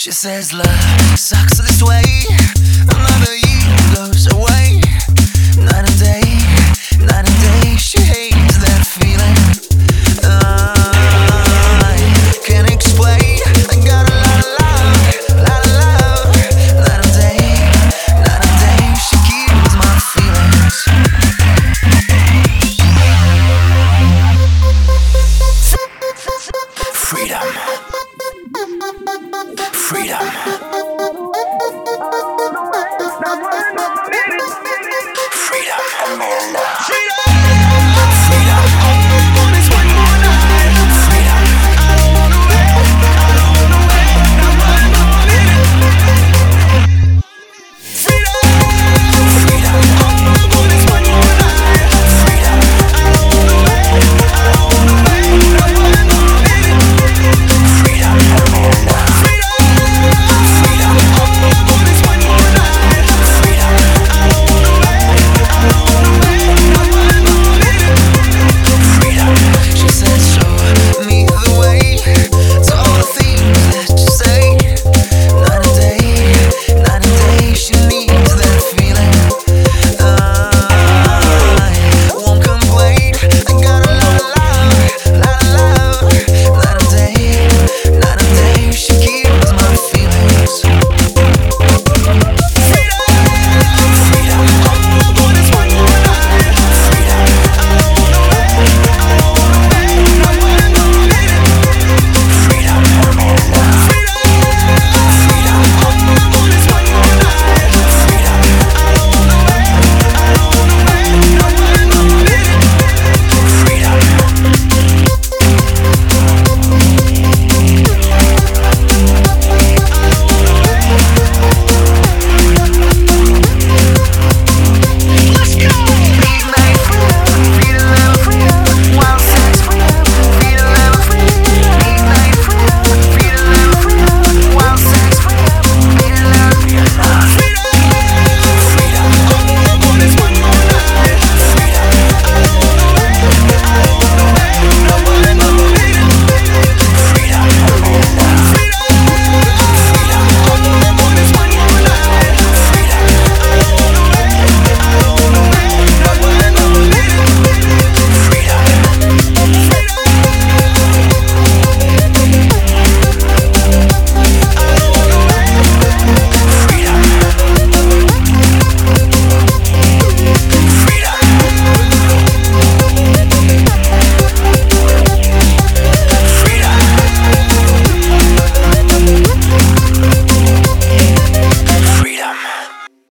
She says love sucks this way. Another year goes away. Night and day, night and day. She hates that feeling. I can't explain. I got a lot of love, lot of love. Night and day, she kills my feelings. Freedom. Freedom.